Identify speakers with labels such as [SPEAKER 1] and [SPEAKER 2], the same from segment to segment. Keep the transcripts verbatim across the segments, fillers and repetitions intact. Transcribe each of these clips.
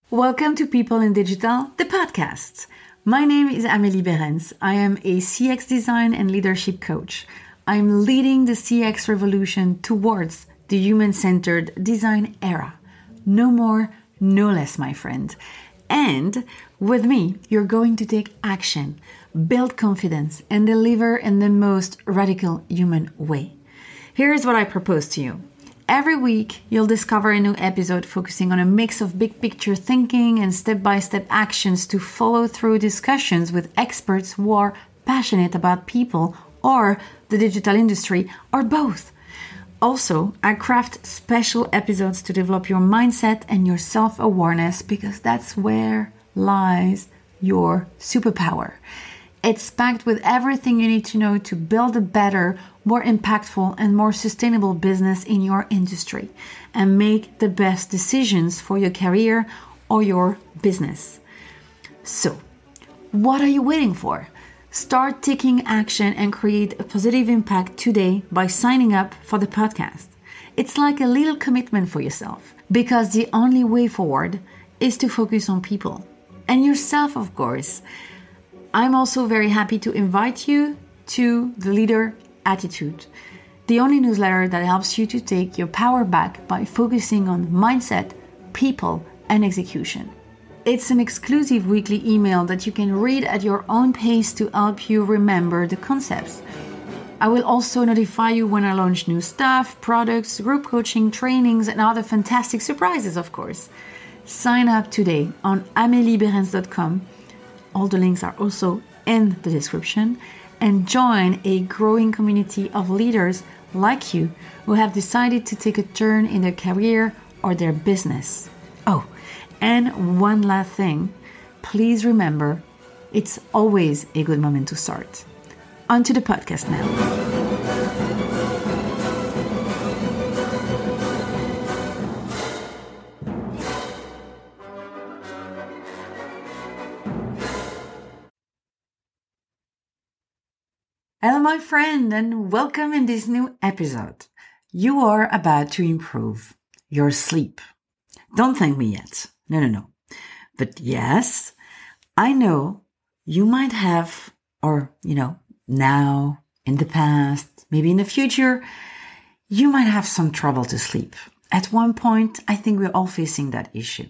[SPEAKER 1] Welcome to People in Digital, the podcast. My name is Amélie Behrens. I am a C X design and leadership coach. I'm leading the C X revolution towards the human-centered design era. No more, no less, my friend. And with me, you're going to take action, build confidence, and deliver in the most radical human way. Here's what I propose to you. Every week, you'll discover a new episode focusing on a mix of big picture thinking and step-by-step actions to follow through discussions with experts who are passionate about people or the digital industry or both. Also, I craft special episodes to develop your mindset and your self-awareness because that's where lies your superpower. It's packed with everything you need to know to build a better, more impactful, and more sustainable business in your industry and make the best decisions for your career or your business. So, what are you waiting for? Start taking action and create a positive impact today by signing up for the podcast. It's like a little commitment for yourself because the only way forward is to focus on people and yourself, of course. I'm also very happy to invite you to the Leader Attitude, the only newsletter that helps you to take your power back by focusing on mindset, people, and execution. It's an exclusive weekly email that you can read at your own pace to help you remember the concepts. I will also notify you when I launch new stuff, products, group coaching, trainings, and other fantastic surprises, of course. Sign up today on amelie behrens dot com. All the links are also in the description, and join a growing community of leaders like you who have decided to take a turn in their career or their business. Oh, and one last thing, please remember, it's always a good moment to start. On to the podcast now. Hello, my friend, and welcome in this new episode. You are about to improve your sleep. Don't thank me yet. No, no, no. But yes, I know you might have, or, you know, now, in the past, maybe in the future, you might have some trouble to sleep. At one point, I think we're all facing that issue.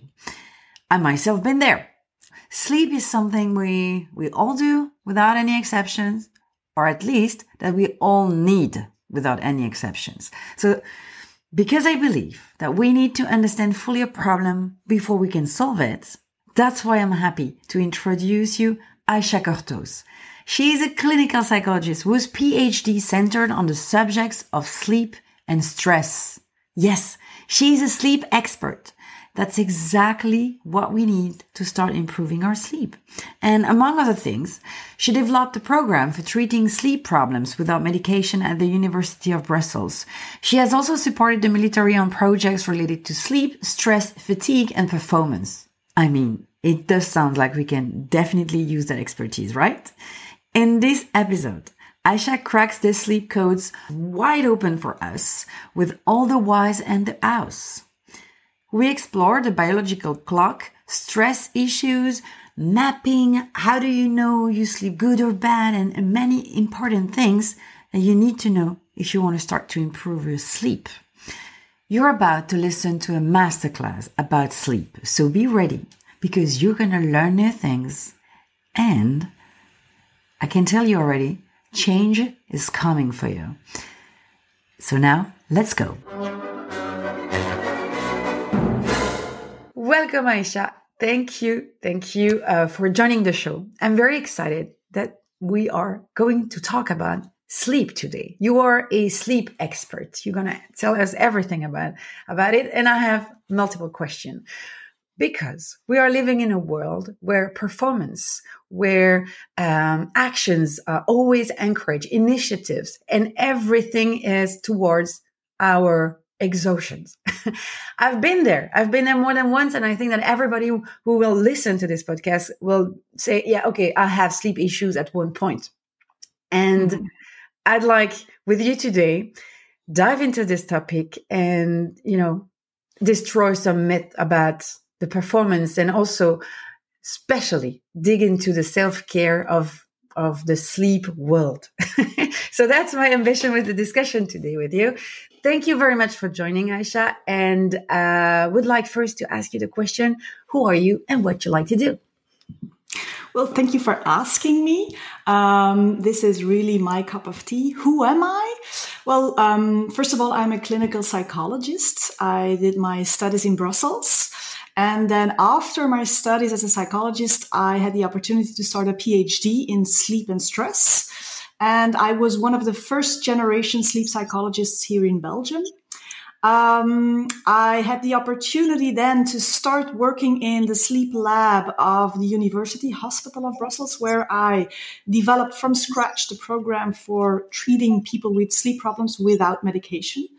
[SPEAKER 1] I myself been there. Sleep is something we, we all do without any exceptions. Or at least that we all need without any exceptions. So, because I believe that we need to understand fully a problem before we can solve it, that's why I'm happy to introduce you Aisha Cortos. She is a clinical psychologist whose P H D centered on the subjects of sleep and stress. Yes, she is a sleep expert. That's exactly what we need to start improving our sleep. And among other things, she developed a program for treating sleep problems without medication at the University of Brussels. She has also supported the military on projects related to sleep, stress, fatigue, and performance. I mean, it does sound like we can definitely use that expertise, right? In this episode, Aisha cracks the sleep codes wide open for us with all the whys and the hows. We explore the biological clock, stress issues, mapping, how do you know you sleep good or bad, and many important things that you need to know if you want to start to improve your sleep. You're about to listen to a masterclass about sleep, so be ready because you're going to learn new things. And I can tell you already, change is coming for you. So now, let's go. Welcome, Aisha. Thank you. Thank you uh, for joining the show. I'm very excited that we are going to talk about sleep today. You are a sleep expert. You're going to tell us everything about, about it. And I have multiple questions because we are living in a world where performance, where um, actions are always encourage initiatives, and everything is towards our exhaustions. I've been there. I've been there more than once. And I think that everybody who will listen to this podcast will say, yeah, okay, I have sleep issues at one point. And mm-hmm. I'd like with you today, dive into this topic and, you know, destroy some myth about the performance, and also especially dig into the self-care of of the sleep world. So that's my ambition with the discussion today with you. Thank you very much for joining, Aisha. And uh, would like first to ask you the question, who are you and what you like to do?
[SPEAKER 2] Well, thank you for asking me. Um, this is really my cup of tea. Who am I? Well, um, first of all, I'm a clinical psychologist. I did my studies in Brussels. And then after my studies as a psychologist, I had the opportunity to start a PhD in sleep and stress. And I was one of the first generation sleep psychologists here in Belgium. Um, I had the opportunity then to start working in the sleep lab of the University Hospital of Brussels, where I developed from scratch the program for treating people with sleep problems without medication.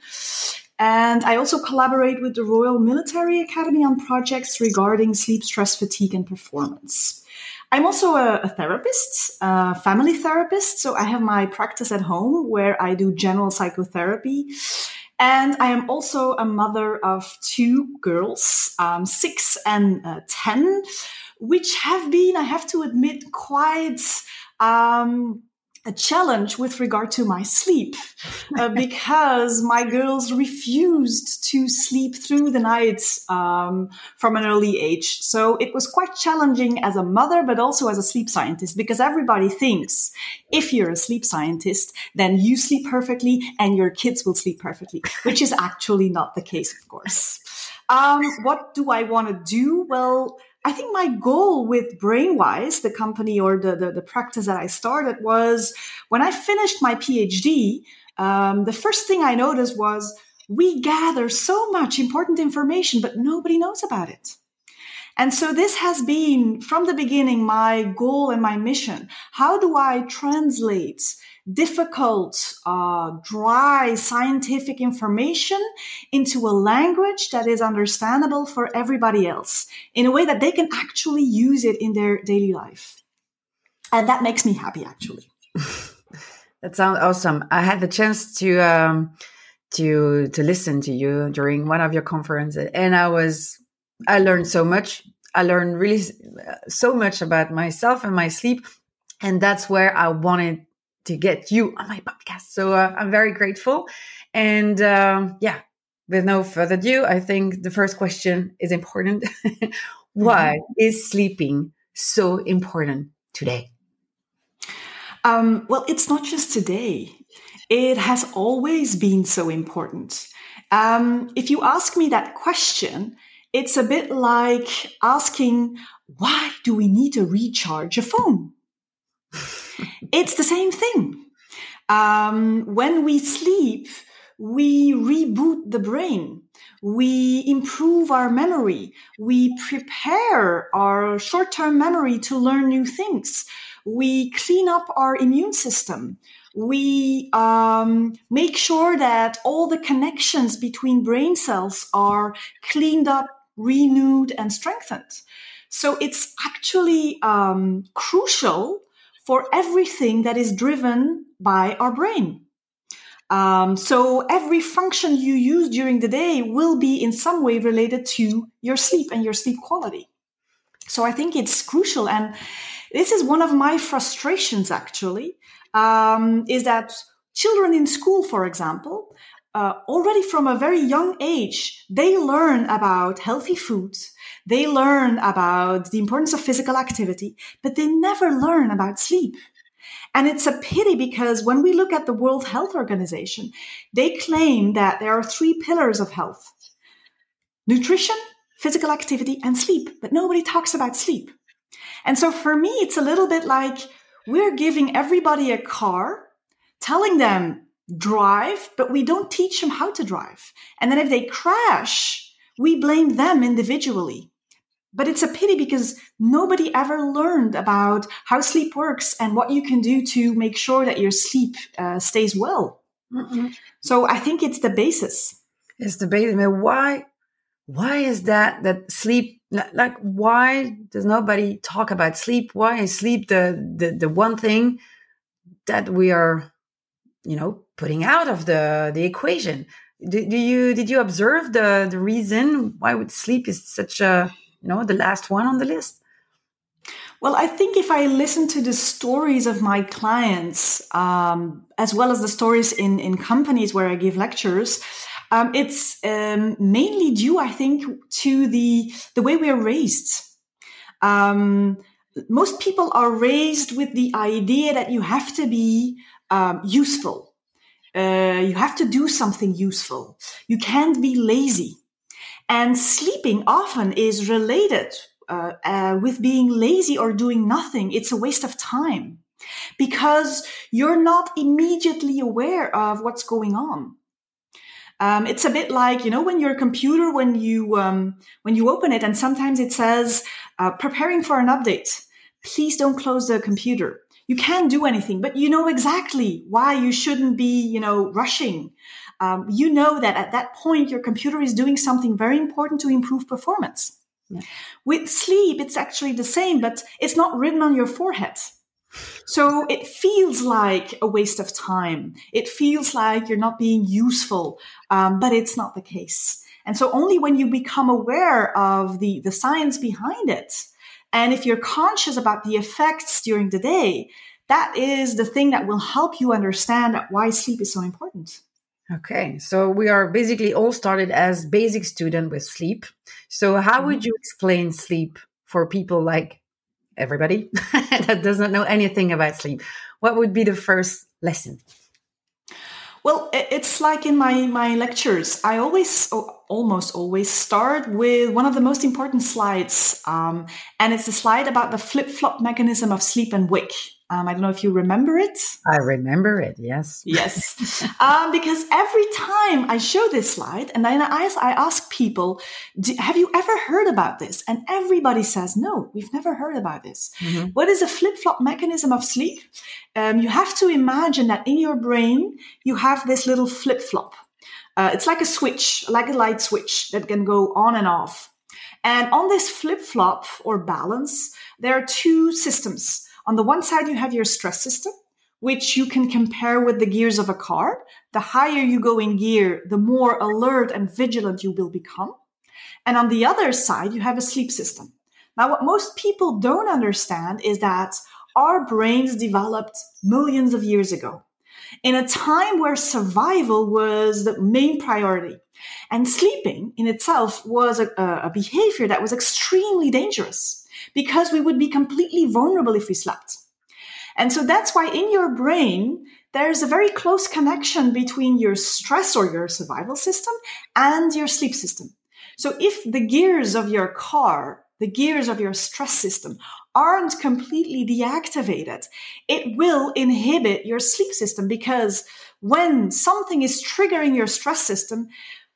[SPEAKER 2] And I also collaborate with the Royal Military Academy on projects regarding sleep, stress, fatigue, and performance. I'm also a, a therapist, a family therapist. So I have my practice at home where I do general psychotherapy. And I am also a mother of two girls, um, six and uh, ten, which have been, I have to admit, quite um, a challenge with regard to my sleep, uh, because my girls refused to sleep through the night um, from an early age. So it was quite challenging as a mother, but also as a sleep scientist, because everybody thinks if you're a sleep scientist, then you sleep perfectly and your kids will sleep perfectly, which is actually not the case, of course. Um, what do I want to do? Well, I think my goal with Brainwise, the company or the, the, the practice that I started, was when I finished my PhD, um, the first thing I noticed was we gather so much important information, but nobody knows about it. And so this has been, from the beginning, my goal and my mission. How do I translate difficult, uh, dry scientific information into a language that is understandable for everybody else in a way that they can actually use it in their daily life? And that makes me happy, actually.
[SPEAKER 1] That sounds awesome. I had the chance to um, to to listen to you during one of your conferences, and I was I learned so much. I learned really so much about myself and my sleep, and that's where I wanted to get you on my podcast. So uh, I'm very grateful. And um, yeah, with no further ado, I think the first question is important. Why mm-hmm. is sleeping so important today?
[SPEAKER 2] Um, well, it's not just today. It has always been so important. Um, if you ask me that question, it's a bit like asking, why do we need to recharge a phone? It's the same thing. Um, when we sleep, we reboot the brain. We improve our memory. We prepare our short-term memory to learn new things. We clean up our immune system. We um, make sure that all the connections between brain cells are cleaned up, renewed, and strengthened. So it's actually um, crucial for everything that is driven by our brain. Um, so every function you use during the day will be in some way related to your sleep and your sleep quality. So I think it's crucial. And this is one of my frustrations, actually, um, is that children in school, for example, uh, already from a very young age, they learn about healthy foods. They learn about the importance of physical activity, but they never learn about sleep. And it's a pity because when we look at the World Health Organization, they claim that there are three pillars of health: nutrition, physical activity, and sleep. But nobody talks about sleep. And so for me, it's a little bit like we're giving everybody a car, telling them drive, but we don't teach them how to drive. And then if they crash, we blame them individually. But it's a pity because nobody ever learned about how sleep works and what you can do to make sure that your sleep uh, stays well. Mm-hmm. So I think it's the basis.
[SPEAKER 1] It's the basis. I mean, why, why is that, that sleep, like, why does nobody talk about sleep? Why is sleep the, the, the one thing that we are, you know, putting out of the, the equation? Do, do you, did you observe the, the reason why would sleep is such a you know, the last one on the list?
[SPEAKER 2] Well, I think if I listen to the stories of my clients, um, as well as the stories in, in companies where I give lectures, um, it's um, mainly due, I think, to the the way we are raised. Um, most people are raised with the idea that you have to be um, useful. Uh, you have to do something useful. You can't be lazy. And sleeping often is related uh, uh, with being lazy or doing nothing. It's a waste of time because you're not immediately aware of what's going on. Um, it's a bit like, you know, when your computer, when you um, when you open it and sometimes it says, uh, preparing for an update, please don't close the computer. You can't do anything, but you know exactly why you shouldn't be, you know, rushing. Um, you know that at that point, your computer is doing something very important to improve performance. Yeah. With sleep, it's actually the same, but it's not written on your forehead. So it feels like a waste of time. It feels like you're not being useful, um, but it's not the case. And so only when you become aware of the, the science behind it, and if you're conscious about the effects during the day, that is the thing that will help you understand why sleep is so important.
[SPEAKER 1] Okay, so we are basically all started as basic student with sleep. So how would you explain sleep for people like everybody that does not know anything about sleep? What would be the first lesson?
[SPEAKER 2] Well, it's like in my, my lectures, I always, almost always start with one of the most important slides. Um, and it's a slide about the flip-flop mechanism of sleep and wake. Um, I don't know if you remember it.
[SPEAKER 1] I remember it, yes.
[SPEAKER 2] Yes. um, because every time I show this slide and then I, I ask people, have you ever heard about this? And everybody says, no, we've never heard about this. Mm-hmm. What is a flip-flop mechanism of sleep? Um, you have to imagine that in your brain, you have this little flip-flop. Uh, it's like a switch, like a light switch that can go on and off. And on this flip-flop or balance, there are two systems. On the one side, you have your stress system, which you can compare with the gears of a car. The higher you go in gear, the more alert and vigilant you will become. And on the other side, you have a sleep system. Now, what most people don't understand is that our brains developed millions of years ago in a time where survival was the main priority. And sleeping in itself was a, a behavior that was extremely dangerous, because we would be completely vulnerable if we slept. And so that's why in your brain, there's a very close connection between your stress or your survival system and your sleep system. So if the gears of your car, the gears of your stress system aren't completely deactivated, it will inhibit your sleep system, because when something is triggering your stress system,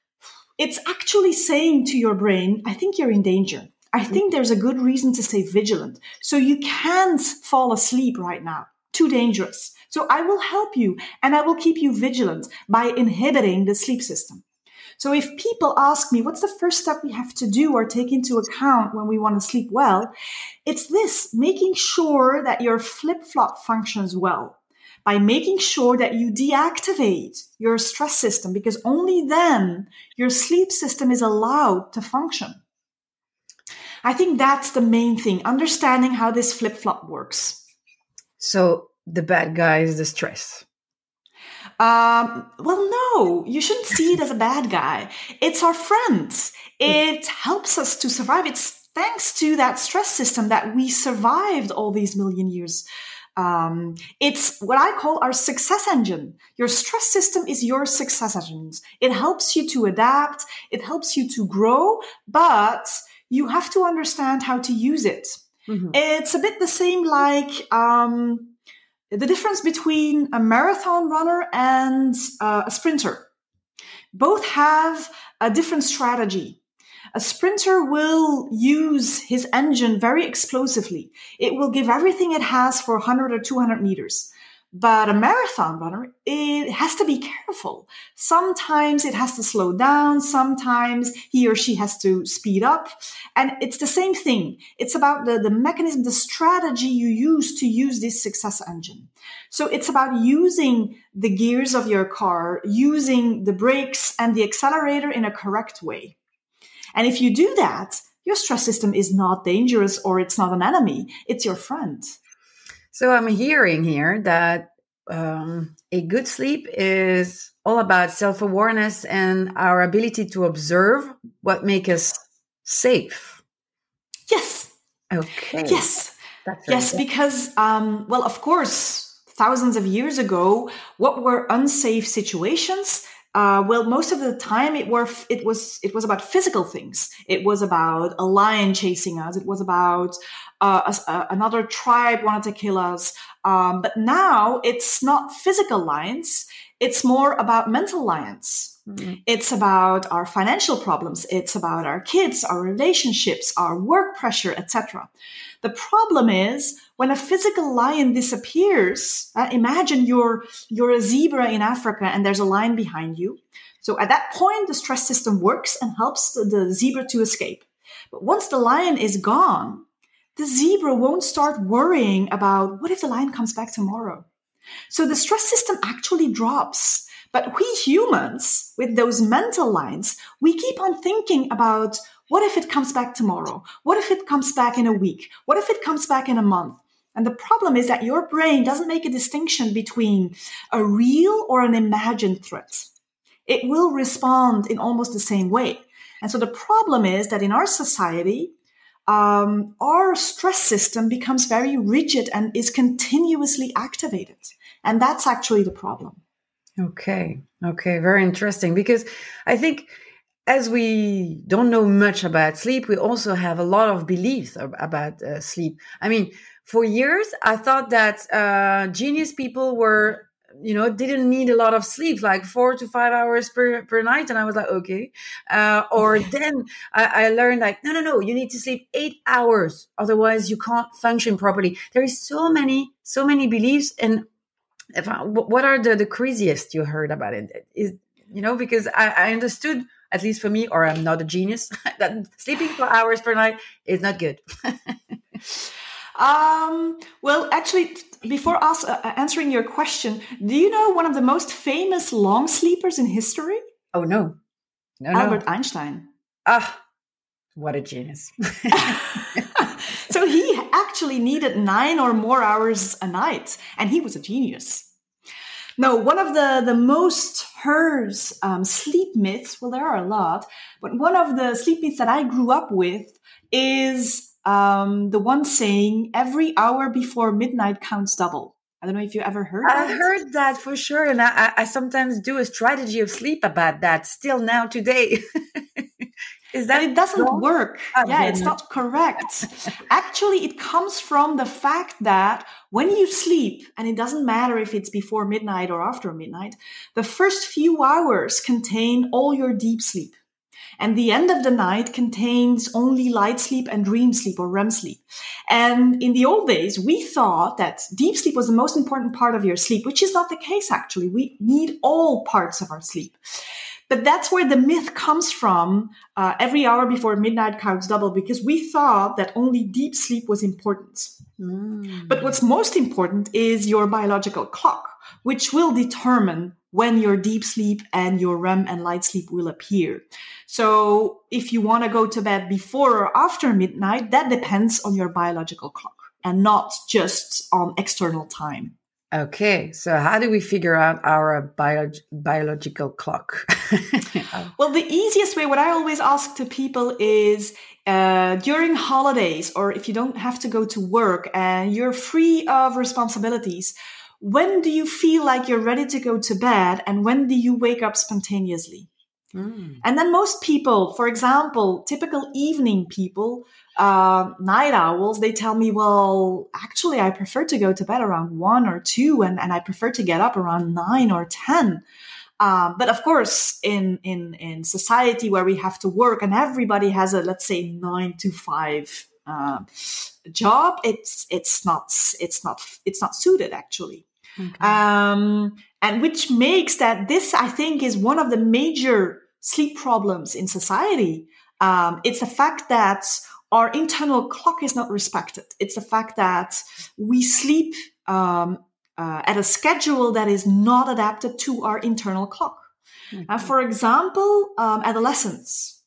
[SPEAKER 2] it's actually saying to your brain, I think you're in danger. I think there's a good reason to stay vigilant. So you can't fall asleep right now. Too dangerous. So I will help you and I will keep you vigilant by inhibiting the sleep system. So if people ask me, what's the first step we have to do or take into account when we want to sleep well? It's this, making sure that your flip-flop functions well, by making sure that you deactivate your stress system, because only then your sleep system is allowed to function. I think that's the main thing, understanding how this flip-flop works.
[SPEAKER 1] So the bad guy is the stress.
[SPEAKER 2] Um, well, no, you shouldn't see it as a bad guy. It's our friend. It helps us to survive. It's thanks to that stress system that we survived all these million years. Um, it's what I call our success engine. Your stress system is your success engine. It helps you to adapt. It helps you to grow, but you have to understand how to use it. Mm-hmm. It's a bit the same like um, the difference between a marathon runner and uh, a sprinter. Both have a different strategy. A sprinter will use his engine very explosively. It will give everything it has for one hundred or two hundred meters. But a marathon runner, it has to be careful. Sometimes it has to slow down. Sometimes he or she has to speed up. And it's the same thing. It's about the, the mechanism, the strategy you use to use this success engine. So it's about using the gears of your car, using the brakes and the accelerator in a correct way. And if you do that, your stress system is not dangerous or it's not an enemy. It's your friend.
[SPEAKER 1] So I'm hearing here that um, a good sleep is all about self-awareness and our ability to observe what makes us safe.
[SPEAKER 2] Yes.
[SPEAKER 1] Okay.
[SPEAKER 2] Yes.
[SPEAKER 1] That's
[SPEAKER 2] yes,
[SPEAKER 1] good.
[SPEAKER 2] because, um, well, of course, thousands of years ago, what were unsafe situations? Uh, well, most of the time it were it was it was about physical things. It was about a lion chasing us. It was about uh, a, a, another tribe wanted to kill us. Um, but now it's not physical lions. It's more about mental lions. Mm-hmm. It's about our financial problems. It's about our kids, our relationships, our work pressure, et cetera. The problem is when a physical lion disappears, uh, imagine you're, you're a zebra in Africa and there's a lion behind you. So at that point, the stress system works and helps the, the zebra to escape. But once the lion is gone, the zebra won't start worrying about what if the lion comes back tomorrow. So the stress system actually drops. But we humans, with those mental lines, we keep on thinking about what if it comes back tomorrow? What if it comes back in a week? What if it comes back in a month? And the problem is that your brain doesn't make a distinction between a real or an imagined threat. It will respond in almost the same way. And so the problem is that in our society, um, our stress system becomes very rigid and is continuously activated. And that's actually the problem.
[SPEAKER 1] Okay. Okay. Very interesting. Because I think as we don't know much about sleep, we also have a lot of beliefs about uh, sleep. I mean, for years, I thought that uh, genius people were, you know, didn't need a lot of sleep, like four to five hours per, per night. And I was like, okay. Uh, or then I, I learned like, no, no, no, you need to sleep eight hours. Otherwise you can't function properly. There is so many, so many beliefs. And if I, what are the, the craziest you heard about it? Is, you know, because I, I understood, at least for me, or I'm not a genius, that sleeping for hours per night is not good.
[SPEAKER 2] um, well, actually, before us uh, answering your question, do you know one of the most famous long sleepers in history?
[SPEAKER 1] Oh, no. No,
[SPEAKER 2] Albert
[SPEAKER 1] no.
[SPEAKER 2] Einstein.
[SPEAKER 1] Ah, what a genius.
[SPEAKER 2] So he actually needed nine or more hours a night, and he was a genius. No, one of the, the most heard um, sleep myths, well, there are a lot, but one of the sleep myths that I grew up with is um, the one saying, every hour before midnight counts double. I don't know if you ever heard that.
[SPEAKER 1] I heard that for sure, and I, I sometimes do a strategy of sleep about that still now today. Is that
[SPEAKER 2] but it doesn't
[SPEAKER 1] wrong?
[SPEAKER 2] work.
[SPEAKER 1] Oh,
[SPEAKER 2] yeah,
[SPEAKER 1] goodness.
[SPEAKER 2] It's not correct. Actually, it comes from the fact that when you sleep, and it doesn't matter if it's before midnight or after midnight, the first few hours contain all your deep sleep. And the end of the night contains only light sleep and dream sleep or R E M sleep. And in the old days, we thought that deep sleep was the most important part of your sleep, which is not the case, actually. We need all parts of our sleep. But that's where the myth comes from, uh, every hour before midnight counts double, because we thought that only deep sleep was important. Mm. But what's most important is your biological clock, which will determine when your deep sleep and your R E M and light sleep will appear. So if you want to go to bed before or after midnight, that depends on your biological clock and not just on external time.
[SPEAKER 1] Okay, so how do we figure out our bio- biological clock?
[SPEAKER 2] Well, the easiest way, what I always ask to people is uh, during holidays, or if you don't have to go to work and you're free of responsibilities, when do you feel like you're ready to go to bed and when do you wake up spontaneously? Mm. And then most people, for example, typical evening people, uh, night owls, they tell me, well, actually, I prefer to go to bed around one or two, and, and I prefer to get up around nine or ten. Um, but of course, in, in, in society where we have to work and everybody has a, let's say, nine to five uh, job, it's it's not it's not it's not suited actually. Okay. Um, and which makes that this, I think, is one of the major sleep problems in society. Um, it's the fact that our internal clock is not respected. It's the fact that we sleep um, uh, at a schedule that is not adapted to our internal clock. Mm-hmm. Uh, for example, um, adolescents.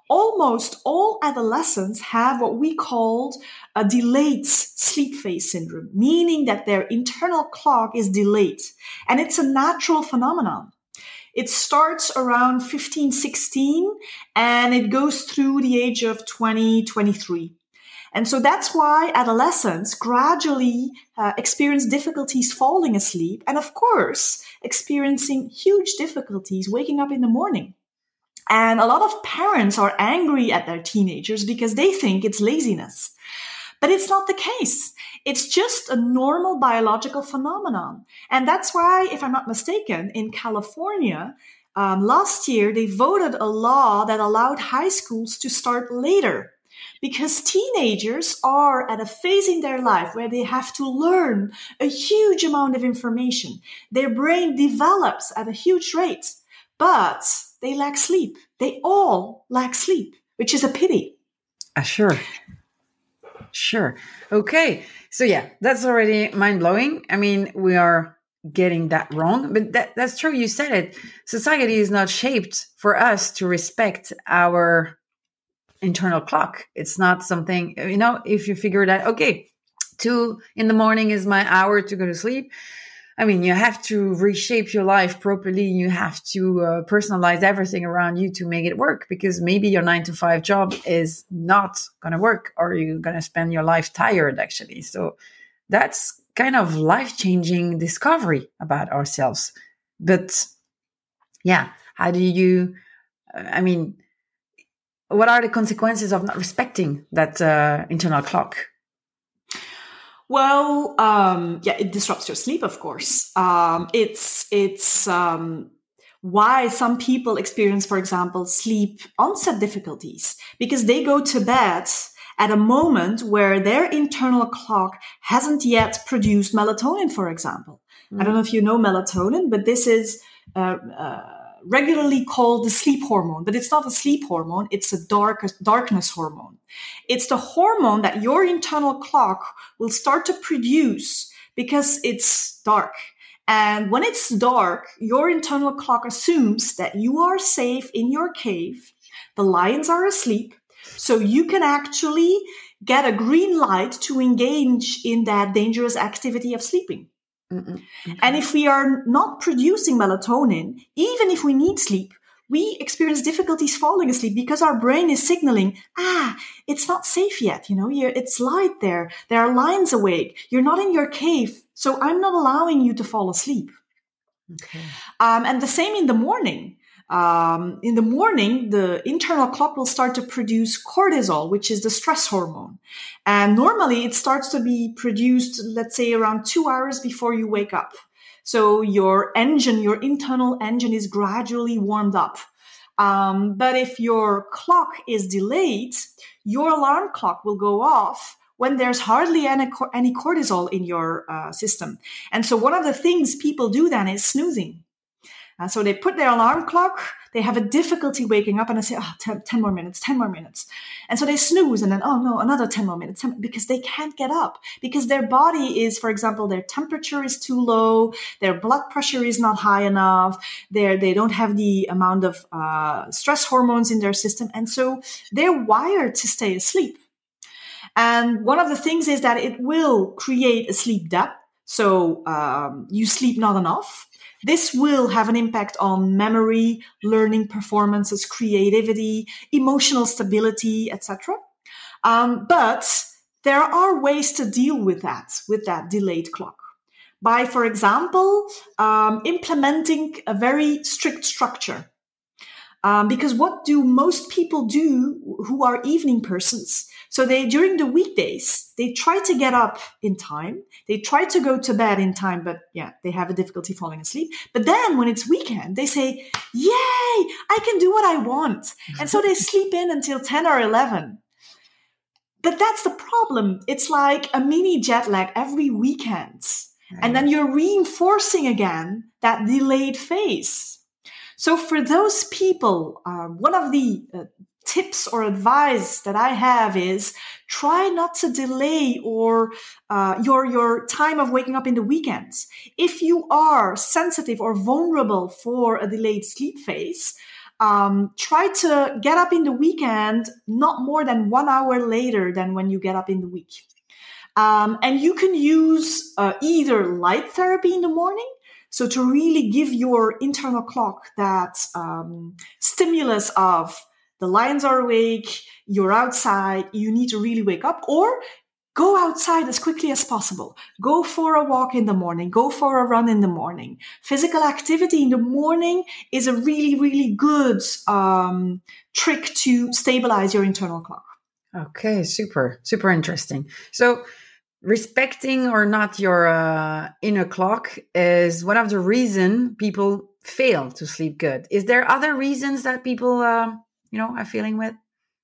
[SPEAKER 2] almost all adolescents have what we called a delayed sleep phase syndrome, meaning that their internal clock is delayed. And it's a natural phenomenon. It starts around fifteen, sixteen, and it goes through the age of twenty, twenty-three. And so that's why adolescents gradually uh, experience difficulties falling asleep and, of course, experiencing huge difficulties waking up in the morning. And a lot of parents are angry at their teenagers because they think it's laziness. But it's not the case. It's just a normal biological phenomenon. And that's why, if I'm not mistaken, in California, um, last year, they voted a law that allowed high schools to start later. Because teenagers are at a phase in their life where they have to learn a huge amount of information. Their brain develops at a huge rate, but they lack sleep. They all lack sleep, which is a pity.
[SPEAKER 1] Uh, sure. Sure. Okay. So yeah, that's already mind-blowing. I mean, we are getting that wrong, but that, that's true. You said it. Society is not shaped for us to respect our internal clock. It's not something, you know, if you figure that, okay, two in the morning is my hour to go to sleep. I mean, you have to reshape your life properly. You have to uh, personalize everything around you to make it work, because maybe your nine to five job is not going to work, or you're going to spend your life tired, actually. So that's kind of life-changing discovery about ourselves. But yeah, how do you, I mean, what are the consequences of not respecting that uh, internal clock?
[SPEAKER 2] Well, um, yeah, it disrupts your sleep, of course. Um, it's it's um, why some people experience, for example, sleep onset difficulties, because they go to bed at a moment where their internal clock hasn't yet produced melatonin, for example. Mm. I don't know if you know melatonin, but this is uh, uh, regularly called the sleep hormone, but it's not a sleep hormone. It's a dark, darkness hormone. It's the hormone that your internal clock will start to produce because it's dark. And when it's dark, your internal clock assumes that you are safe in your cave. The lions are asleep. So you can actually get a green light to engage in that dangerous activity of sleeping. Mm-mm. Okay. And if we are not producing melatonin, even if we need sleep, we experience difficulties falling asleep because our brain is signaling, ah, it's not safe yet. You know, you're, it's light there. There are lions awake. You're not in your cave. So I'm not allowing you to fall asleep. Okay. Um, and the same in the morning. Um, in the morning, the internal clock will start to produce cortisol, which is the stress hormone. And normally it starts to be produced, let's say, around two hours before you wake up. So your engine, your internal engine is gradually warmed up. Um, but if your clock is delayed, your alarm clock will go off when there's hardly any, any cortisol in your uh, system. And so one of the things people do then is snoozing. Uh, so they put their alarm clock, they have a difficulty waking up, and they say, oh, ten, ten more minutes, ten more minutes. And so they snooze, and then, oh no, another ten more minutes, because they can't get up, because their body is, for example, their temperature is too low, their blood pressure is not high enough, they're, they don't have the amount of uh, stress hormones in their system, and so they're wired to stay asleep. And one of the things is that it will create a sleep debt, so um, you sleep not enough. This will have an impact on memory, learning performances, creativity, emotional stability, et cetera. Um, but there are ways to deal with that, with that delayed clock. By, for example, um, implementing a very strict structure. Um, because what do most people do who are evening persons? So they, during the weekdays, they try to get up in time. They try to go to bed in time, but yeah, they have a difficulty falling asleep. But then when it's weekend, they say, yay, I can do what I want. And so they sleep in until ten or eleven. But that's the problem. It's like a mini jet lag every weekend. Right. And then you're reinforcing again that delayed phase. So for those people, uh, one of the uh, tips or advice that I have is try not to delay or uh, your your time of waking up in the weekends. If you are sensitive or vulnerable for a delayed sleep phase, um, try to get up in the weekend not more than one hour later than when you get up in the week. Um, and you can use uh, either light therapy in the morning, so to really give your internal clock that um, stimulus of the lions are awake, you're outside, you need to really wake up, or go outside as quickly as possible. Go for a walk in the morning. Go for a run in the morning. Physical activity in the morning is a really, really good um, trick to stabilize your internal clock.
[SPEAKER 1] Okay, super, super interesting. So respecting or not your uh, inner clock is one of the reasons people fail to sleep good. Is there other reasons that people, uh, you know, are feeling with?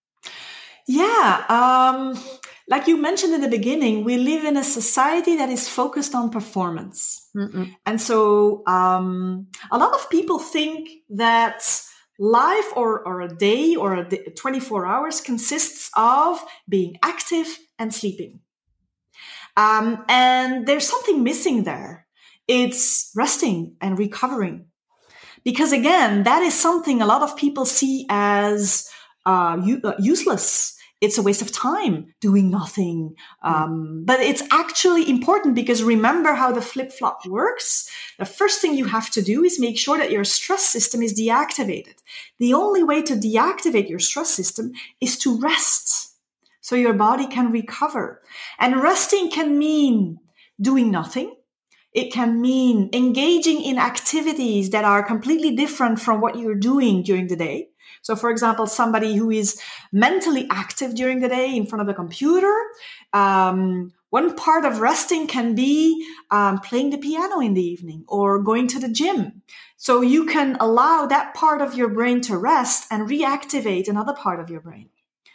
[SPEAKER 2] Yeah. Um, like you mentioned in the beginning, we live in a society that is focused on performance. Mm-mm. And so um, a lot of people think that life or, or a day or a day, twenty-four hours consists of being active and sleeping. Um, and there's something missing there. It's resting and recovering. Because again, that is something a lot of people see as uh, u- uh, useless. It's a waste of time doing nothing. Um, but it's actually important because remember how the flip-flop works. The first thing you have to do is make sure that your stress system is deactivated. The only way to deactivate your stress system is to rest, so your body can recover. And resting can mean doing nothing. It can mean engaging in activities that are completely different from what you're doing during the day. So, for example, somebody who is mentally active during the day in front of a computer, um, one part of resting can be um, playing the piano in the evening or going to the gym. So you can allow that part of your brain to rest and reactivate another part of your brain.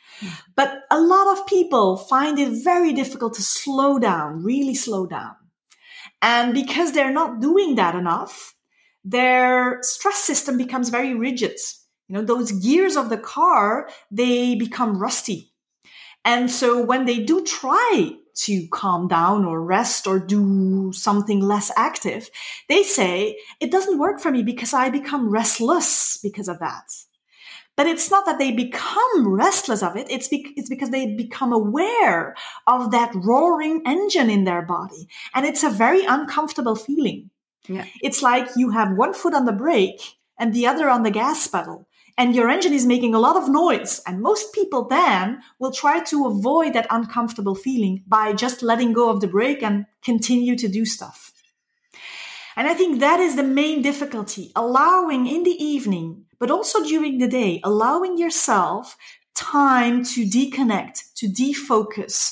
[SPEAKER 2] But a lot of people find it very difficult to slow down, really slow down. And because they're not doing that enough, their stress system becomes very rigid. You know, those gears of the car, they become rusty. And so when they do try to calm down or rest or do something less active, they say, it doesn't work for me because I become restless because of that. But it's not that they become restless of it. It's, be- it's because they become aware of that roaring engine in their body. And it's a very uncomfortable feeling. Yeah. It's like you have one foot on the brake and the other on the gas pedal. And your engine is making a lot of noise. And most people then will try to avoid that uncomfortable feeling by just letting go of the brake and continue to do stuff. And I think that is the main difficulty, allowing in the evening, but also during the day, allowing yourself time to deconnect, to defocus,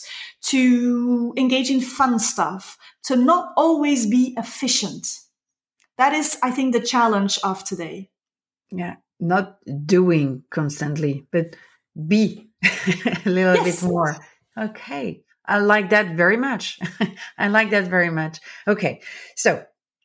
[SPEAKER 2] to engage in fun stuff, to not always be efficient. That is, I think, the challenge of today.
[SPEAKER 1] Yeah, not doing constantly, but be a little yes. bit more. Okay, I like that very much. I like that very much. Okay, so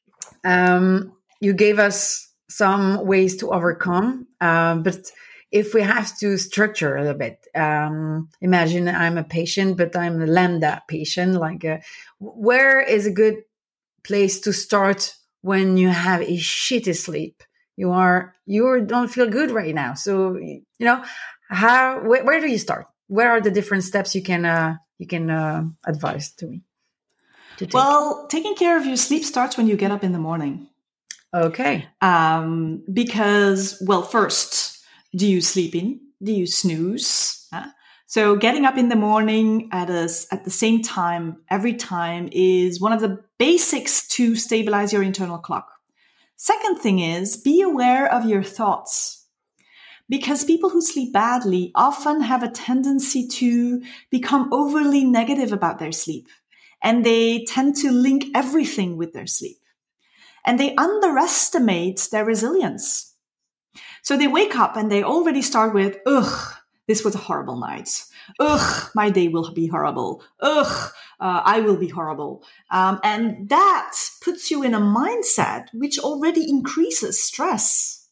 [SPEAKER 1] um, you gave us some ways to overcome, uh, but if we have to structure a little bit, um, imagine I'm a patient, but I'm a lambda patient. Like, uh, where is a good place to start when you have a shitty sleep? You are you don't feel good right now, so you know how. Where, where do you start? Where are the different steps you can uh, you can uh, advise to me? To take?
[SPEAKER 2] Well, taking care of your sleep starts when you get up in the morning.
[SPEAKER 1] Okay.
[SPEAKER 2] Um, because, well, first, do you sleep in? Do you snooze? Huh? So getting up in the morning at a, at the same time, every time, is one of the basics to stabilize your internal clock. Second thing is, be aware of your thoughts. Because people who sleep badly often have a tendency to become overly negative about their sleep. And they tend to link everything with their sleep. And they underestimate their resilience. So they wake up and they already start with, ugh, this was a horrible night. Ugh, my day will be horrible. Ugh, uh, I will be horrible. Um, and that puts you in a mindset which already increases stress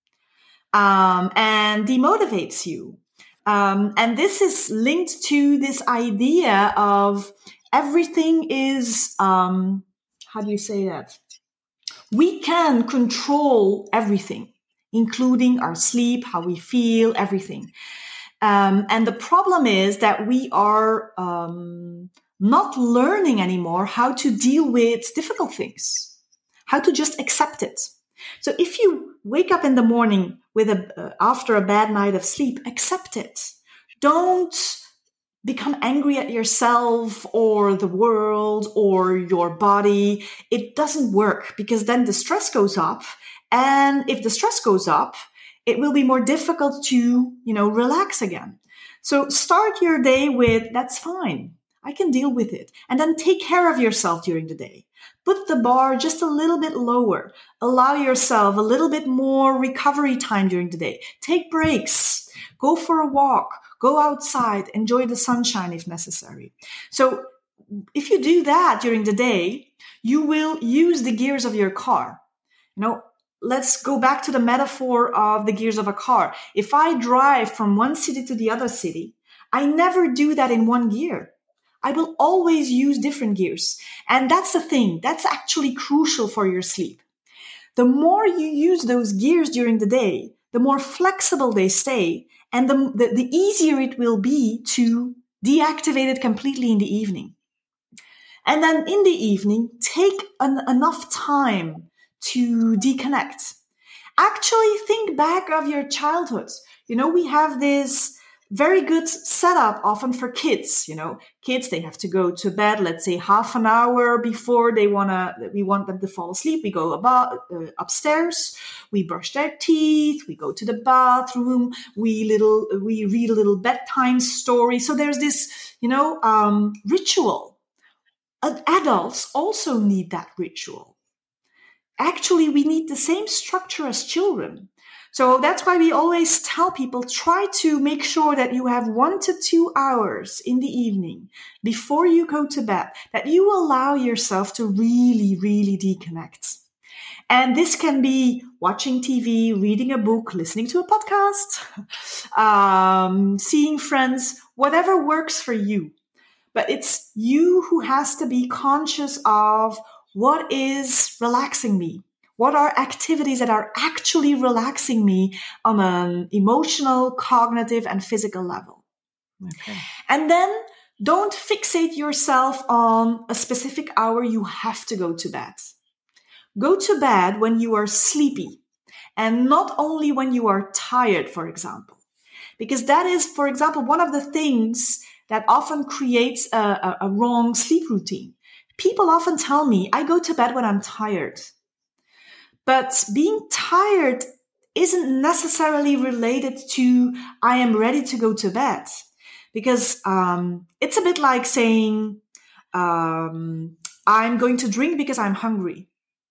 [SPEAKER 2] um, and demotivates you. Um, and this is linked to this idea of everything is, um, how do you say that? We can control everything. including our sleep, how we feel, everything. Um, and the problem is that we are um, not learning anymore how to deal with difficult things, how to just accept it. So if you wake up in the morning with a uh, after a bad night of sleep, accept it. Don't become angry at yourself or the world or your body. It doesn't work, because then the stress goes up. And if the stress goes up, it will be more difficult to, you know, relax again. So start your day with, that's fine, I can deal with it. And then take care of yourself during the day. Put the bar just a little bit lower. Allow yourself a little bit more recovery time during the day. Take breaks. Go for a walk. Go outside. Enjoy the sunshine if necessary. So if you do that during the day, you will use the gears of your car. You know, let's go back to the metaphor of the gears of a car. If I drive from one city to the other city, I never do that in one gear. I will always use different gears. And that's the thing. That's actually crucial for your sleep. The more you use those gears during the day, the more flexible they stay, and the, the, the easier it will be to deactivate it completely in the evening. And then in the evening, take an, enough time to deconnect. Actually, think back of your childhood. You know, we have this very good setup often for kids. You know, kids, they have to go to bed, let's say half an hour before they wanna, we want them to fall asleep. We go about, uh, upstairs, we brush their teeth, we go to the bathroom, we little, we read a little bedtime story. So there's this, you know, um, ritual. Adults also need that ritual. Actually, we need the same structure as children. So that's why we always tell people, try to make sure that you have one to two hours in the evening before you go to bed, that you allow yourself to really, really deconnect. And this can be watching T V, reading a book, listening to a podcast, um, seeing friends, whatever works for you. But it's you who has to be conscious of what is relaxing me. What are activities that are actually relaxing me on an emotional, cognitive, and physical level? Okay. And then don't fixate yourself on a specific hour you have to go to bed. Go to bed when you are sleepy, and not only when you are tired, for example. Because that is, for example, one of the things that often creates a, a, a wrong sleep routine. People often tell me, I go to bed when I'm tired. But being tired isn't necessarily related to I am ready to go to bed. Because um, it's a bit like saying um, I'm going to drink because I'm hungry.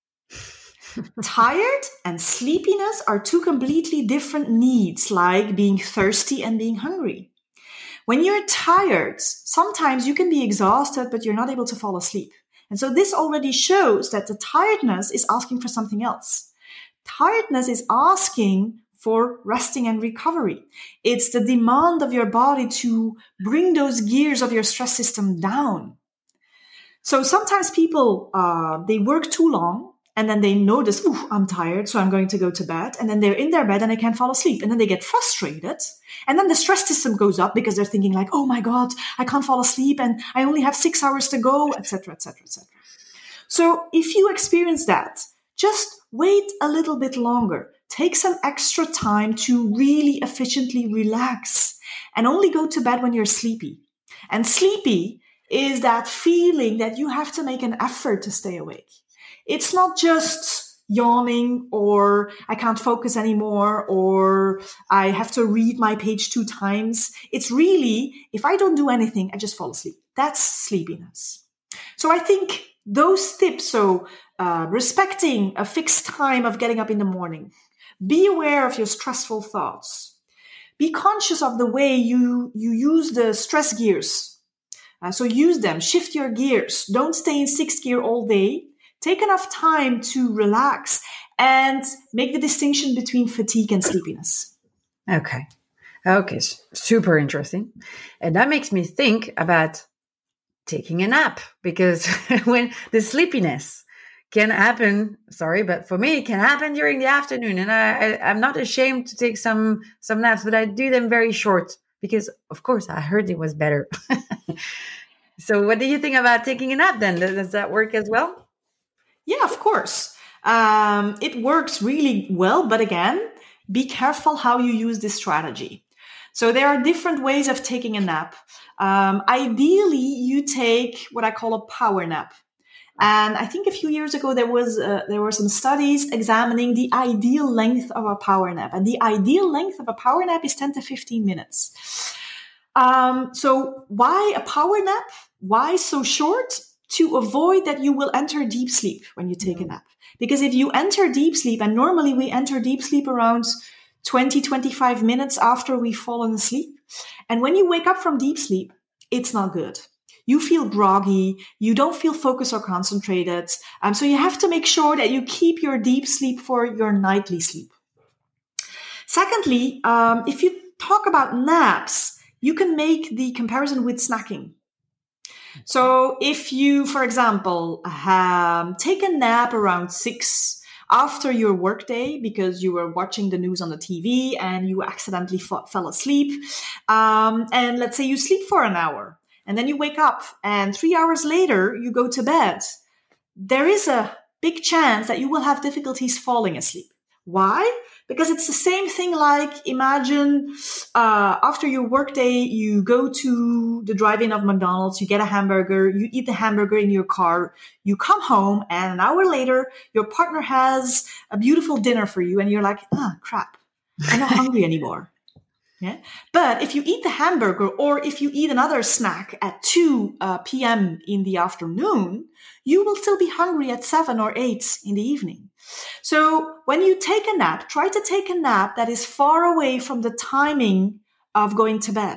[SPEAKER 2] Tired and sleepiness are two completely different needs, like being thirsty and being hungry. When you're tired, sometimes you can be exhausted, but you're not able to fall asleep. And so this already shows that the tiredness is asking for something else. Tiredness is asking for resting and recovery. It's the demand of your body to bring those gears of your stress system down. So sometimes people, uh, they work too long, and then they notice, ooh, I'm tired, so I'm going to go to bed. And then they're in their bed and they can't fall asleep. And then they get frustrated. And then the stress system goes up because they're thinking like, oh my God, I can't fall asleep and I only have six hours to go, et cetera, et cetera, et cetera. So if you experience that, just wait a little bit longer. Take some extra time to really efficiently relax and only go to bed when you're sleepy. And sleepy is that feeling that you have to make an effort to stay awake. It's not just yawning or I can't focus anymore or I have to read my page two times. It's really, if I don't do anything, I just fall asleep. That's sleepiness. So I think those tips, so uh, respecting a fixed time of getting up in the morning, be aware of your stressful thoughts, be conscious of the way you, you use the stress gears. Uh, so use them, shift your gears. Don't stay in sixth gear all day. Take enough time to relax and make the distinction between fatigue and sleepiness.
[SPEAKER 1] Okay. Okay. Super interesting. And that makes me think about taking a nap, because when the sleepiness can happen. Sorry, but for me, it can happen during the afternoon. And I, I, I'm not ashamed to take some, some naps, but I do them very short because, of course, I heard it was better. So what do you think about taking a nap then? Does that work as well?
[SPEAKER 2] Yeah, of course. Um, it works really well. But again, be careful how you use this strategy. So there are different ways of taking a nap. Um, ideally, you take what I call a power nap. And I think a few years ago, there was uh, there were some studies examining the ideal length of a power nap. And the ideal length of a power nap is ten to fifteen minutes. Um, so why a power nap? Why so short? To avoid that you will enter deep sleep when you take a nap. Because if you enter deep sleep, and normally we enter deep sleep around twenty, twenty-five minutes after we've fallen asleep. And when you wake up from deep sleep, it's not good. You feel groggy. You don't feel focused or concentrated. Um, so you have to make sure that you keep your deep sleep for your nightly sleep. Secondly, um, if you talk about naps, you can make the comparison with snacking. So if you, for example, um, take a nap around six after your workday because you were watching the news on the T V and you accidentally f- fell asleep, um, and let's say you sleep for an hour and then you wake up and three hours later you go to bed, there is a big chance that you will have difficulties falling asleep. Why? Because it's the same thing like imagine uh, after your workday, you go to the drive-in of McDonald's, you get a hamburger, you eat the hamburger in your car, you come home, and an hour later, your partner has a beautiful dinner for you, and you're like, ah, crap, I'm not hungry anymore. Yeah. But if you eat the hamburger or if you eat another snack at two uh, p.m. in the afternoon, you will still be hungry at seven or eight in the evening. So when you take a nap, try to take a nap that is far away from the timing of going to bed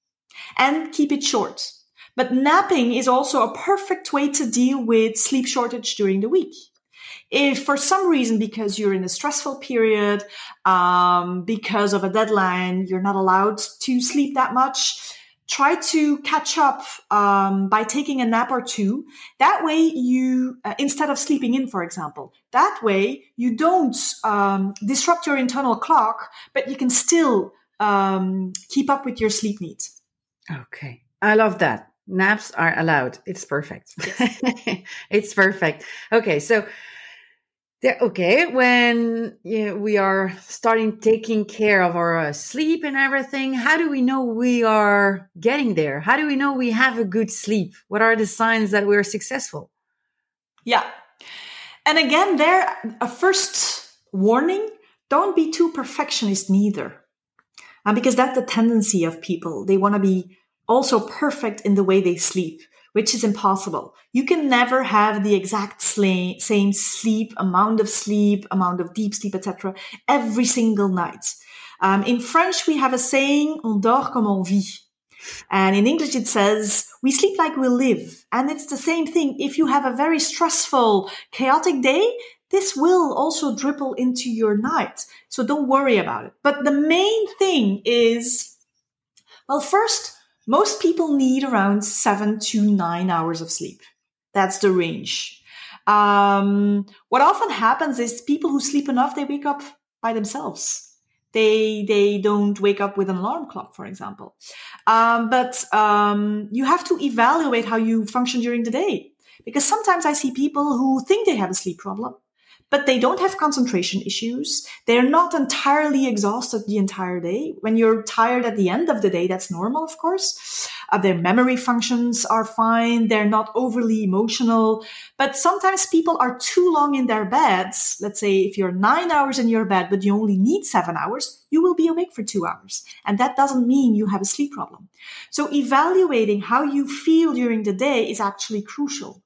[SPEAKER 2] and keep it short. But napping is also a perfect way to deal with sleep shortage during the week. If for some reason, because you're in a stressful period, um, because of a deadline, you're not allowed to sleep that much, try to catch up um, by taking a nap or two. That way you, uh, instead of sleeping in, for example, that way you don't um, disrupt your internal clock, but you can still um, keep up with your sleep needs.
[SPEAKER 1] Okay. I love that. Naps are allowed. It's perfect. Yes. It's perfect. Okay. So, There, okay, when you know, we are starting taking care of our uh, sleep and everything, how do we know we are getting there? How do we know we have a good sleep? What are the signs that we're successful?
[SPEAKER 2] Yeah. And again, there, a first warning, don't be too perfectionist neither. Uh, because that's the tendency of people. They want to be also perfect in the way they sleep, which is impossible. You can never have the exact sla- same sleep, amount of sleep, amount of deep sleep, et cetera, every single night. Um, in French, we have a saying, on dort comme on vit. And in English, it says, we sleep like we live. And it's the same thing. If you have a very stressful, chaotic day, this will also dribble into your night. So don't worry about it. But the main thing is, well, first, most people need around seven to nine hours of sleep. That's the range. Um, what often happens is people who sleep enough, they wake up by themselves. They they don't wake up with an alarm clock, for example. Um, but um, you have to evaluate how you function during the day. Because sometimes I see people who think they have a sleep problem, but they don't have concentration issues. They're not entirely exhausted the entire day. When you're tired at the end of the day, that's normal, of course. Uh, their memory functions are fine. They're not overly emotional. But sometimes people are too long in their beds. Let's say if you're nine hours in your bed, but you only need seven hours, you will be awake for two hours. And that doesn't mean you have a sleep problem. So evaluating how you feel during the day is actually crucial.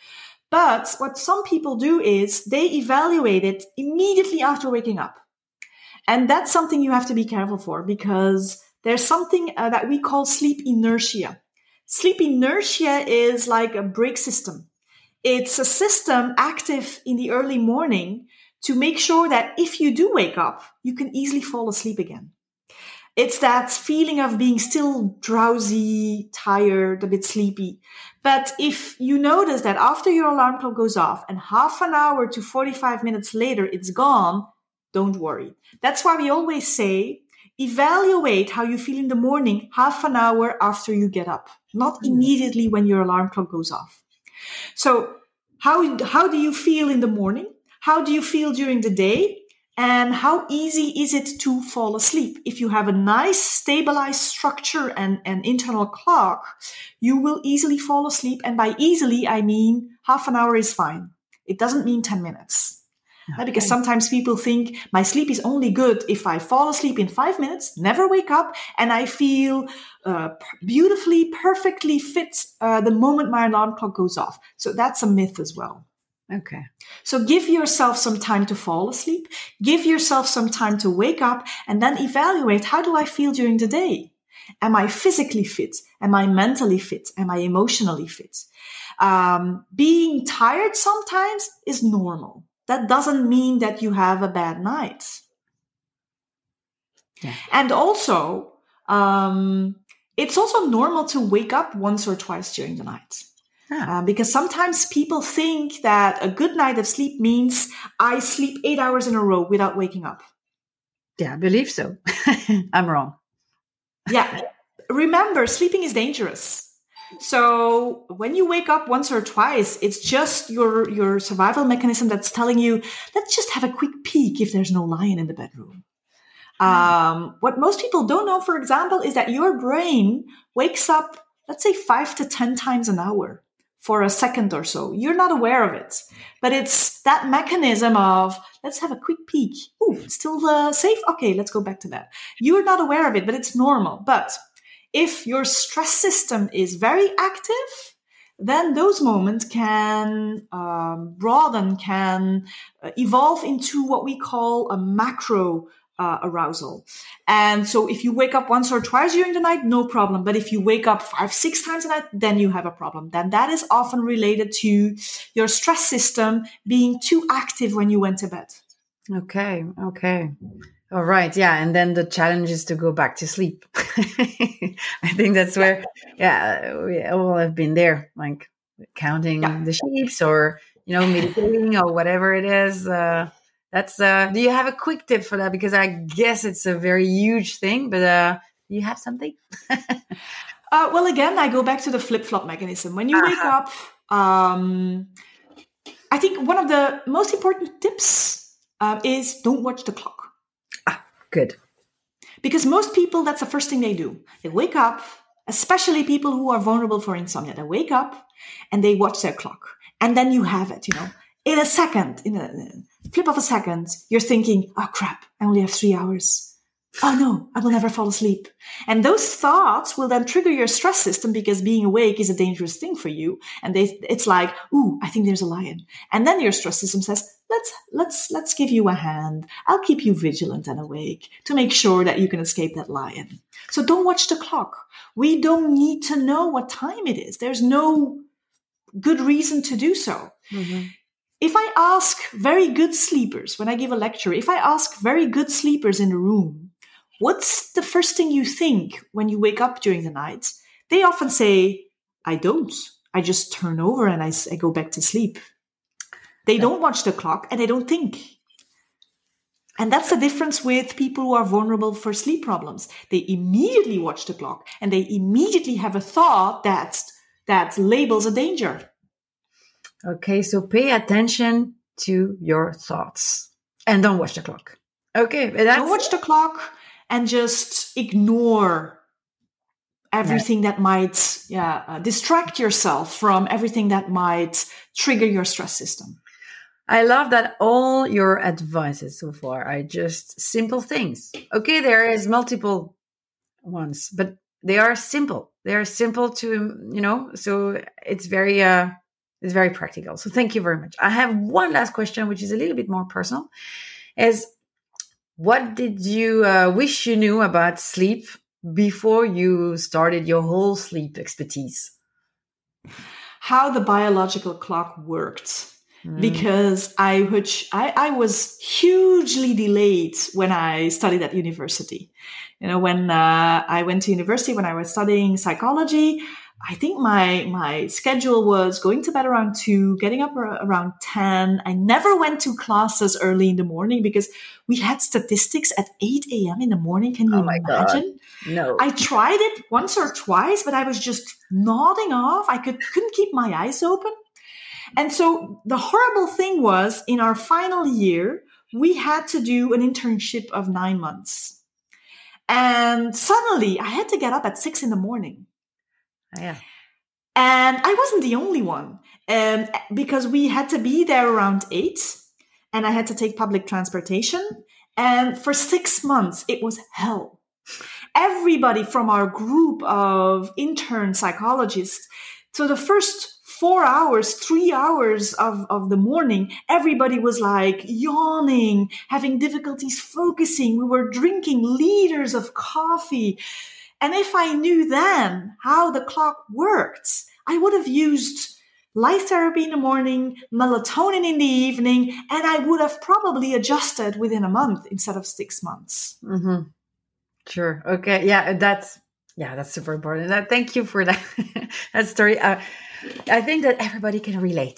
[SPEAKER 2] But what some people do is they evaluate it immediately after waking up. And that's something you have to be careful for because there's something uh, that we call sleep inertia. Sleep inertia is like a brake system. It's a system active in the early morning to make sure that if you do wake up, you can easily fall asleep again. It's that feeling of being still drowsy, tired, a bit sleepy. But if you notice that after your alarm clock goes off and half an hour to forty-five minutes later it's gone, don't worry. That's why we always say, evaluate how you feel in the morning half an hour after you get up, not immediately when your alarm clock goes off. So how, how do you feel in the morning? How do you feel during the day? And how easy is it to fall asleep? If you have a nice stabilized structure and an internal clock, you will easily fall asleep. And by easily, I mean half an hour is fine. It doesn't mean ten minutes. Okay. Because sometimes people think my sleep is only good if I fall asleep in five minutes, never wake up, and I feel uh, beautifully, perfectly fit uh, the moment my alarm clock goes off. So that's a myth as well.
[SPEAKER 1] Okay.
[SPEAKER 2] So give yourself some time to fall asleep, give yourself some time to wake up, and then evaluate, how do I feel during the day? Am I physically fit? Am I mentally fit? Am I emotionally fit? Um, being tired sometimes is normal. That doesn't mean that you have a bad night. Yeah. And also, um, it's also normal to wake up once or twice during the night. Yeah. Uh, because sometimes people think that a good night of sleep means I sleep eight hours in a row without waking up.
[SPEAKER 1] Yeah, I believe so. I'm wrong.
[SPEAKER 2] Yeah. Remember, sleeping is dangerous. So when you wake up once or twice, it's just your, your survival mechanism that's telling you, let's just have a quick peek if there's no lion in the bedroom. Um, what most people don't know, for example, is that your brain wakes up, let's say five to ten times an hour. For a second or so. You're not aware of it. But it's that mechanism of, let's have a quick peek. Ooh, it's still uh, safe? Okay, let's go back to that. You're not aware of it, but it's normal. But if your stress system is very active, then those moments can um, broaden, can uh, evolve into what we call a macro Uh, arousal. And so if you wake up once or twice during the night, no problem. But if you wake up five, six times a night, then you have a problem. Then that is often related to your stress system being too active when you went to bed.
[SPEAKER 1] Okay. Okay. All right. Yeah. And then the challenge is to go back to sleep. I think that's where, yeah, we all have been there, like counting yeah. the sheep or, you know, meditating or whatever it is. Uh, That's, uh, do you have a quick tip for that? Because I guess it's a very huge thing, but, uh, do you have something?
[SPEAKER 2] uh, well, again, I go back to the flip-flop mechanism. When you uh-huh. wake up, um, I think one of the most important tips, uh, is don't watch the clock.
[SPEAKER 1] Ah, good.
[SPEAKER 2] Because most people, that's the first thing they do. They wake up, especially people who are vulnerable for insomnia. They wake up and they watch their clock. And then you have it, you know, in a second, in a flip of a second, you're thinking, oh crap, I only have three hours. Oh no, I will never fall asleep. And those thoughts will then trigger your stress system because being awake is a dangerous thing for you. And they, it's like, ooh, I think there's a lion. And then your stress system says, let's, let's, let's give you a hand. I'll keep you vigilant and awake to make sure that you can escape that lion. So don't watch the clock. We don't need to know what time it is. There's no good reason to do so. Mm-hmm. If I ask very good sleepers, when I give a lecture, if I ask very good sleepers in the room, what's the first thing you think when you wake up during the night? They often say, I don't. I just turn over and I, I go back to sleep. They yeah. don't watch the clock and they don't think. And that's the difference with people who are vulnerable for sleep problems. They immediately watch the clock and they immediately have a thought that, that labels a danger.
[SPEAKER 1] Okay, so pay attention to your thoughts and don't watch the clock. Okay, but that's...
[SPEAKER 2] don't watch the clock and just ignore everything yeah. that might yeah, uh, distract yourself from everything that might trigger your stress system.
[SPEAKER 1] I love that all your advices so far are just simple things. Okay, there is multiple ones, but they are simple. They are simple to, you know, so it's very... Uh, It's very practical. So thank you very much. I have one last question, which is a little bit more personal. Is what did you uh, wish you knew about sleep before you started your whole sleep expertise?
[SPEAKER 2] How the biological clock worked. Mm. Because I, which I, I was hugely delayed when I studied at university. You know, when uh, I went to university, when I was studying psychology, I think my my schedule was going to bed around two, getting up ar- around ten. I never went to classes early in the morning because we had statistics at eight a.m. in the morning. Can you
[SPEAKER 1] Oh my God.
[SPEAKER 2] imagine?
[SPEAKER 1] No.
[SPEAKER 2] I tried it once or twice, but I was just nodding off. I could, couldn't keep my eyes open. And so the horrible thing was, in our final year, we had to do an internship of nine months. And suddenly I had to get up at six in the morning.
[SPEAKER 1] Oh, yeah.
[SPEAKER 2] And I wasn't the only one, um, because we had to be there around eight, and I had to take public transportation. And for six months, it was hell. Everybody from our group of intern psychologists, so the first four hours, three hours of, of the morning, everybody was like yawning, having difficulties focusing. We were drinking liters of coffee. And if I knew then how the clock worked, I would have used light therapy in the morning, melatonin in the evening, and I would have probably adjusted within a month instead of six months.
[SPEAKER 1] Mm-hmm. Sure. Okay. Yeah, that's yeah, that's super important. That, thank you for that that story. Uh, I think that everybody can relate.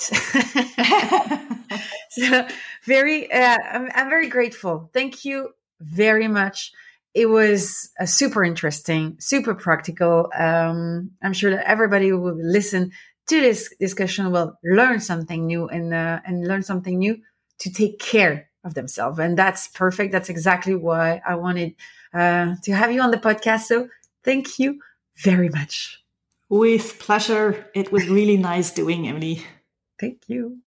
[SPEAKER 1] So very, uh, I'm, I'm very grateful. Thank you very much. It was uh, super interesting, super practical. Um, I'm sure that everybody who will listen to this discussion will learn something new and uh, and learn something new to take care of themselves. And that's perfect. That's exactly why I wanted uh, to have you on the podcast. So thank you very much.
[SPEAKER 2] With pleasure. It was really nice doing, Emily.
[SPEAKER 1] Thank you.